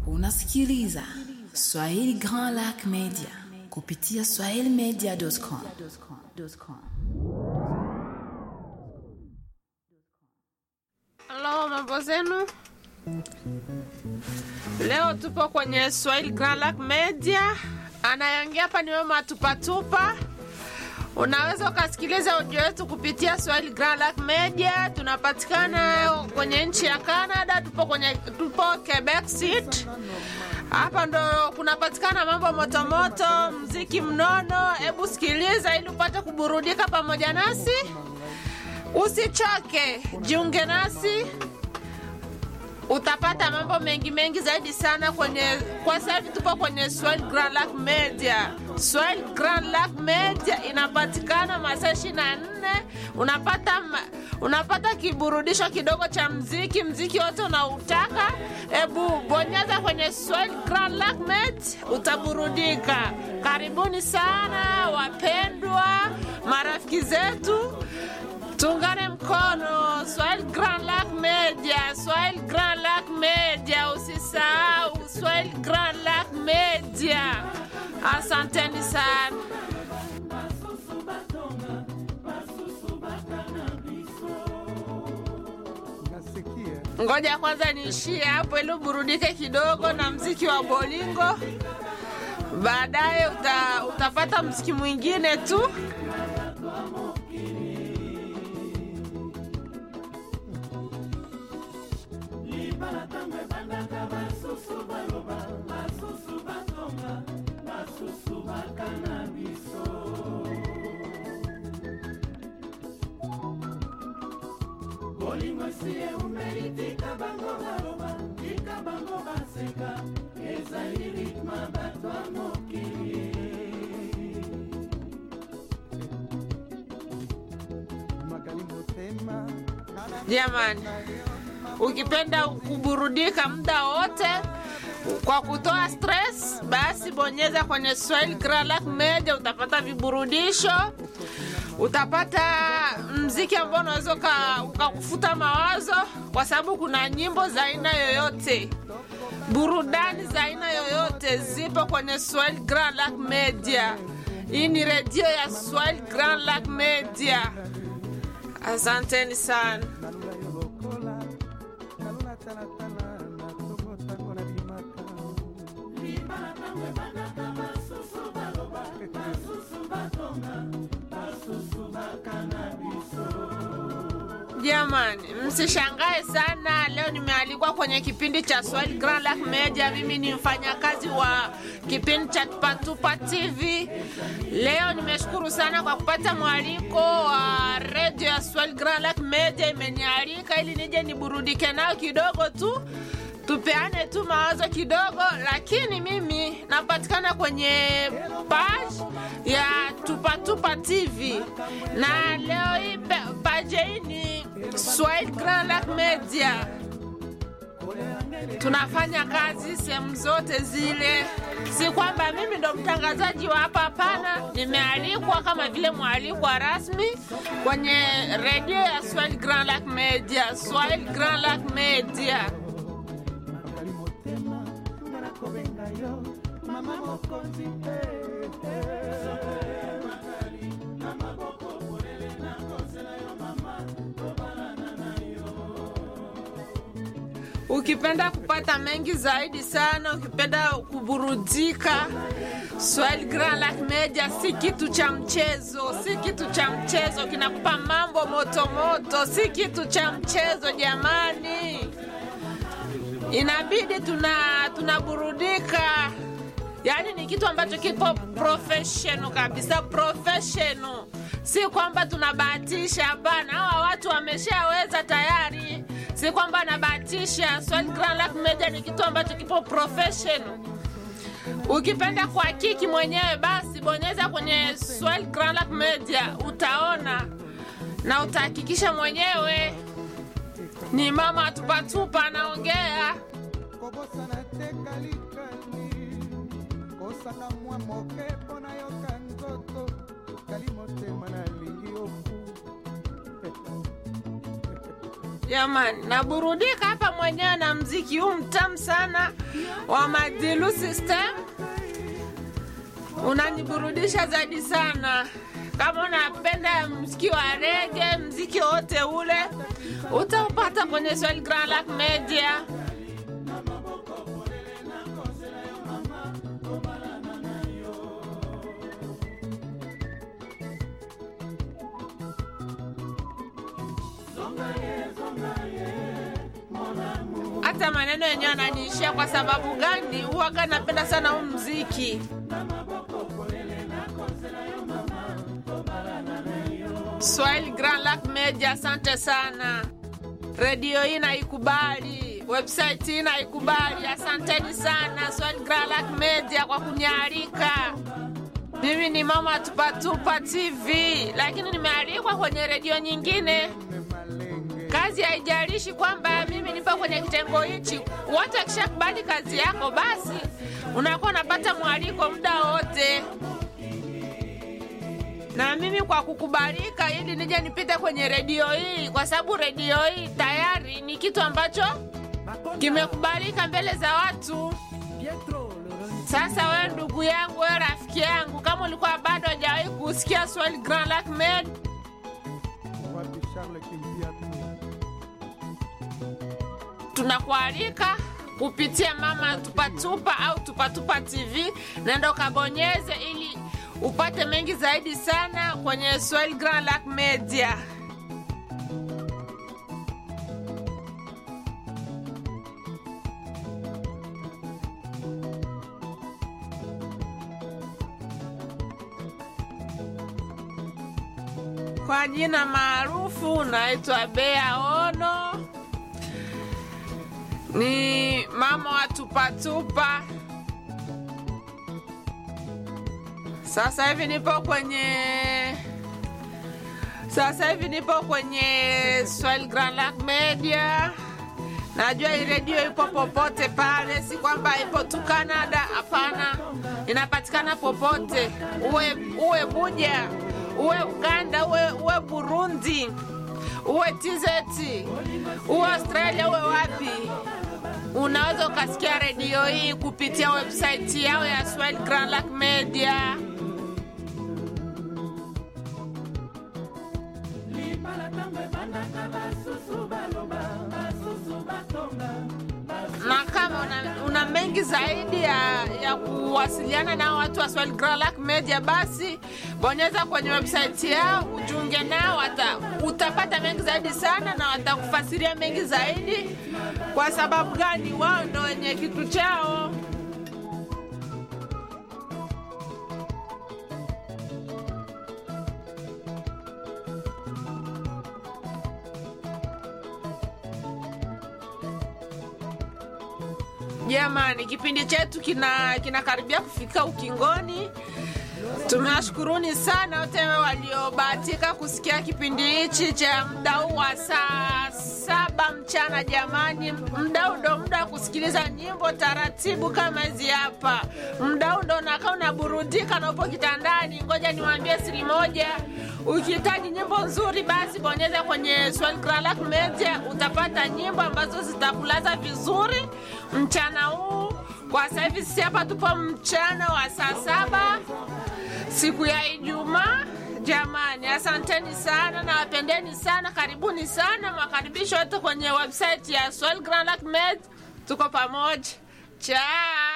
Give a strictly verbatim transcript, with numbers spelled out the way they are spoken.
Unasikiliza Swahili Grand Lac Media kupitia swahili media dot com. Hello, mambo zenu. Leo tupo kwenye Swahili Grand Lac Media. Anayeongea hapa ni Mama Tupatupa. Unaweza ukasikiliza audio yetu kupitia Swahili Grand Lac Media. Tunapatikana kwenye nchi ya Canada, tupo kwenye tupo Quebec City. Hapa ndo kunapatikana mambo moto moto, muziki mnono. Hebu sikiliza ili upate kuburudika pamoja nasi. Usichoke, jiunge nasi. Utapata mambo mengi mengi zaidi sana kwenye kwa sasa hivi tupo kwenye Swahili Grand Lac Media. Swahili Grand Lac Media inapatikana masaa ishirini na nne. Unapata unapata kiburudisho kidogo cha muziki, muziki wote unautaka. Hebu bonyeza kwenye Swahili Grand Lac Media utaburudika. Karibuni sana wapendwa, marafiki zetu. Tungane mkono. Swahili Grand Lac Media, Swahili Grand Lac Media, usisahau Swahili Grand Lac Media. Asanteni sana. Ngoja kwanza niishie hapo ili burudike kidogo na muziki wa bolingo. Baadaye uta, utapata muziki mwingine tu. Jamani, ukipenda kuburudika muda wote kwa kutoa stress, basi bonyeza kwenye Swahili Grand Lac Media, utapata viburudisho, utapata muziki ambao unaweza ukakufuta mawazo, kwa sababu kuna nyimbo za aina yoyote, burudani za aina yoyote zipo kwenye Swahili Grand Lac Media. Hii ni radio ya Swahili Grand Lac Media. Asanteni sana. Jamani, msishangae sana. Leo nimealikwa kwenye kipindi cha Swahili Grand Lac Media. Mimi ni mfanyakazi wa kipindi cha Tupatupa T V. Leo nimeshukuru sana kwa kupata mwaliko wa radio ya Swahili Grand Lac Media. Imenialika ili nije niburudike nao kidogo tu, tupeane tu mawazo kidogo. Lakini mimi napatikana kwenye page ya Tupatupa T V, na leo hii page hii ni Swahili Grand Lac Media. Tunafanya kazi sehemu zote zile. Si kwamba mimi ndo mtangazaji wa hapa, hapana. Nimealikwa kama vile mwalikwa rasmi kwenye radio ya Swahili Grand Lac Media, Swahili Grand Lac Media. Ukipenda kupata mengi zaidi sana, ukipenda kuburudika, Swahili Grand Lac Media si kitu cha mchezo, si kitu cha mchezo, kinakupa mambo moto moto, si kitu cha mchezo jamani. Inabidi tuna tunaburudika. Yaani ni kitu ambacho kipo professional kabisa, professional. Si kwamba tunabahatisha, hapana. Hawa watu wameshaweza tayari. Si kwamba nabahatisha. Swahili Grand Lac Media ni kitu ambacho kipo professional. Ukipenda kuhakiki mwenyewe, basi bonyeza kwenye Swahili Grand Lac Media, utaona na utahakikisha mwenyewe. Ni Mama Tupatupa anaongea. Jamani, naburudika hapa mwenyewe na muziki huu mtamu sana. wa Madilu System unaniburudisha zaidi sana. Kama unapenda muziki wa reggae, muziki wote ule utaupata kwenye Swahili Grand Lac Media. Hata maneno yenyewe yananiishia. Kwa sababu gani? Huwa napenda sana huu muziki. Swahili Grand Lac Media, asante sana. Radio hii naikubali, website hii naikubali. Asanteni sana Swahili Grand Lac Media kwa kunialika. Mimi ni Mama Tupatupa T V, lakini nimealikwa kwenye radio nyingine. Kazi haijalishi kwamba mimi nipo kwenye kitengo hichi. Watu wakishakubali kazi yako, basi unakuwa unapata mwaliko muda wote. Na mimi kwa kukubalika ili nije nipite kwenye radio hii, kwa sababu radio hii tayari ni kitu ambacho kimekubalika mbele za watu. Sasa wewe ndugu yangu, wewe rafiki yangu, kama ulikuwa bado hujawahi kusikia Swahili Grand Lac Media, tunakualika kupitia Mama Tupatupa au Tupatupa T V, nenda kabonyeze ili upate mengi zaidi sana kwenye Swahili Grand Lac Media. Kwa jina maarufu naitwa Bea Ono. Ni mama wa Tupatupa. Sasa hivi nipo kwenye Sasa hivi nipo kwenye Swahili Grand Lac Media. Najua hii radio ipo popote pale, si kwamba ipo tu Canada, hapana. Inapatikana popote. Uwe uwe Buja, uwe Uganda, uwe uwe Burundi, uwe T Z, uwe Australia, uwe wapi. Unaweza ukasikia radio hii kupitia website yao ya Swahili Grand Lac Media. Na kama una, una mengi zaidi ya, ya kuwasiliana na watu wa Swahili Grand Lac Media, basi bonyeza kwenye website yao, ujiunge nao, wata, utapata mengi zaidi sana na watakufasiria mengi zaidi. Kwa sababu gani? Wao ndio wenye kitu chao. Jamani, kipindi chetu kina kinakaribia kufika ukingoni. Tunashukuruni sana wote waliobahatika kusikia kipindi hichi cha muda huu wa saa saba mchana. Jamani, muda huu ndo muda kusikiliza nyimbo taratibu kama hizi hapa. Muda huu ndo unakaa unaburudika na upo kitandani. Ngoja niwaambie siri moja. Ukihitaji nyimbo nzuri, basi bonyeza kwenye Swahili Grand Lac Media, utapata nyimbo ambazo zitakulaza vizuri mchana huu. Kwa sasa hivi sisi hapa tupo mchana wa saa saba siku ya Ijumaa. Jamani, asanteni sana na wapendeni sana, karibuni sana, makaribisho yote kwenye website ya Swahili Grand Lac Media. Tuko pamoja. Ciao.